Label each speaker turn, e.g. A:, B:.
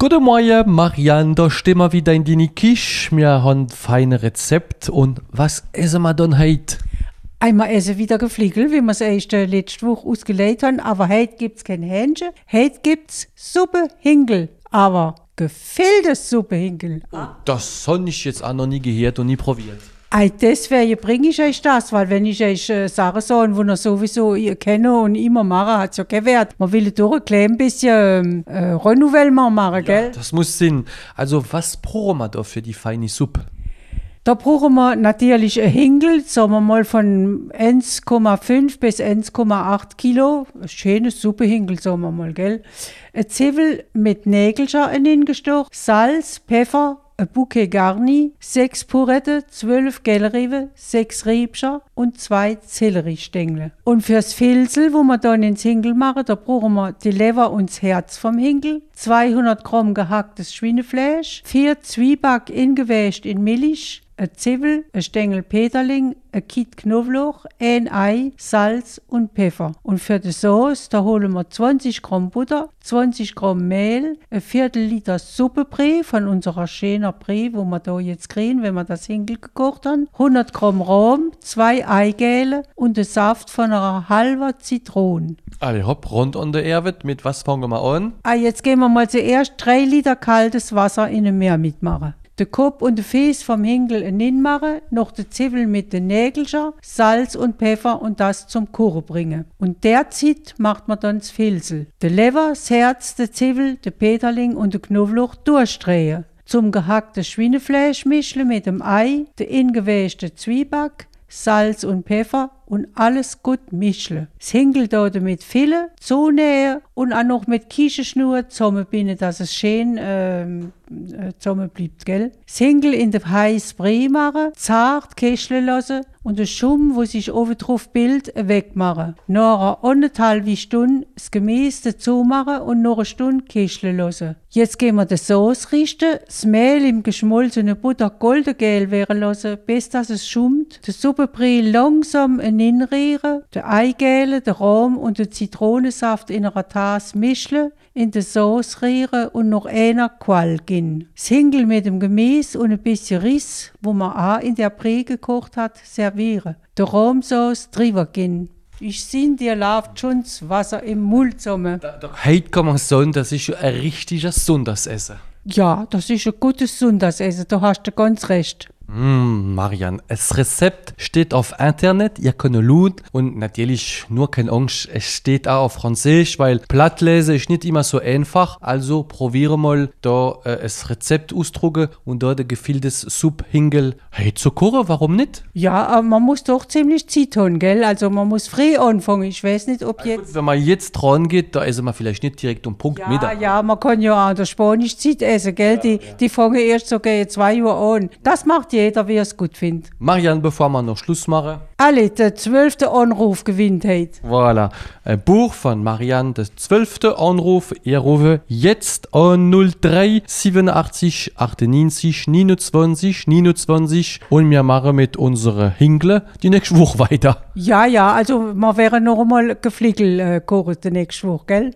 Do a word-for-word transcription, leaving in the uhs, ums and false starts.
A: Guten Morgen, Marianne, da stehen wir wieder in deine Küche. Wir haben feine Rezept. Und was essen wir dann heute?
B: Einmal essen wieder Gefliegel, wie wir es erst äh, letzte Woche ausgelegt haben. Aber heute gibt es kein Hähnchen. Heute gibt es Suppe Hinkel. Aber gefälltes Suppe Hinkel.
A: Oh, das habe ich jetzt auch noch nie gehört und nie probiert.
B: Ei, deswegen bringe ich euch das, weil wenn ich euch äh, Sachen sage, die ihr sowieso ihr kennt und immer machen, hat es ja keinen Wert. Man will durch ein klein bisschen äh, Renouvellement machen, gell?
A: Ja, das muss Sinn. Also, was brauchen wir da für die feine Suppe?
B: Da brauchen wir natürlich ein Hinkel, sagen wir mal von eins Komma fünf bis eins Komma acht Kilo. Ein schönes Suppehinkel, sagen wir mal, gell? Ein Zwiebel mit Nägelchen hingestochen, Salz, Pfeffer, ein Bouquet Garni, sechs Purette, zwölf Gellriebe, sechs Riebscher und zwei Selleriestängel. Und fürs Filzel, wo wir dann ins Hinkel machen, da brauchen wir die Leber und das Herz vom Hinkel, zweihundert Gramm gehacktes Schweinefleisch, vier Zwieback ingewäscht in Milch, ein Zwiebel, ein Stängel Peterling, ein Kitt Knoblauch, ein Ei, Salz und Pfeffer. Und für die Sauce, da holen wir zwanzig Gramm Butter, zwanzig Gramm Mehl, ein Viertel Liter Suppebrei von unserer schönen Brei, wo wir da jetzt kriegen, wenn wir das Hinkel gekocht haben, hundert Gramm Rahm, zwei Eigele und den Saft von einer halben Zitrone.
A: Alle hopp, rund an der Erde. Mit was fangen wir an?
B: Ah, jetzt gehen wir mal zuerst drei Liter kaltes Wasser in ein Meer mitmachen. Den Kopf und den Fies vom Hinkel hinmachen, noch den Zwiebel mit den Nägelchen, Salz und Pfeffer und das zum Kochen bringen. Und derzeit macht man dann das Filzel. Den Leber, das Herz, den Zwiebel, den Peterling und den Knoblauch durchdrehen. Zum gehackten Schweinefleisch mischen mit dem Ei, den ingewäschten Zwieback, Salz und Pfeffer und alles gut mischen. Das Hinkel da damit füllen, zunähen und auch noch mit Kiechenschnur zusammenbinden, dass es schön ähm, zusammen bleibt, gell? Das Hinkel in den heißen Brei machen, zart köcheln lassen und den Schumm, wo sich oben drauf bildet, wegmachen. Nach einer anderthalben Stunde das Gemüse dazu machen und noch eine Stunde köcheln lassen. Jetzt gehen wir die Sauce richten, das Mehl im geschmolzenen Butter goldengel werden lassen, bis dass es schummt. Den Suppebrei langsam hineinrühren, den Eigel, den Rahm und den Zitronensaft in einer Tasse mischen, in die Sauce rühren und noch einer Qual geben. Das Hinkel mit dem Gemüse und ein bisschen Riss, wo man auch in der Brei gekocht hat, servieren. Die Rahmsauce drüber geben. Ich sehe, dir läuft schon das Wasser im Mund zusammen.
A: Da, da, heute kann man sagen, das ist schon ein richtiges Sonntagsessen.
B: Ja, das ist ein gutes Sonntagsessen, da hast du ganz recht.
A: Mmh, Marianne, das Rezept steht auf Internet, ihr könnt schauen und natürlich nur keine Angst, es steht auch auf Französisch, weil Plattlesen ist nicht immer so einfach, also probiere mal da äh, das Rezept ausdrucken und da der gefülltes Suppe-Hinkel hey, zu kochen, warum nicht?
B: Ja, aber man muss doch ziemlich Zeit haben, gell? Also man muss früh anfangen, ich weiß nicht, ob jetzt...
A: Gut, wenn man jetzt dran geht, da essen wir vielleicht nicht direkt um Punkt
B: Ja,
A: Mittag.
B: ja, man kann ja auch in der Spanisch Zeit essen, gell? Ja, die, ja. die fangen erst so gegen zwei Uhr an. Das macht jeder, wie er es gut findet.
A: Marianne, bevor wir noch Schluss machen.
B: Alle, der zwölfte Anruf gewinnt heute.
A: Voilà, ein Buch von Marianne, der zwölfte Anruf. Ihr rufe jetzt an null drei siebenundachtzig achtundneunzig neunundzwanzig neunundzwanzig und wir machen mit unserer Hinkle die nächste Woche weiter.
B: Ja, ja, also wir werden noch einmal Gefliegel äh, kochen die nächste Woche, gell?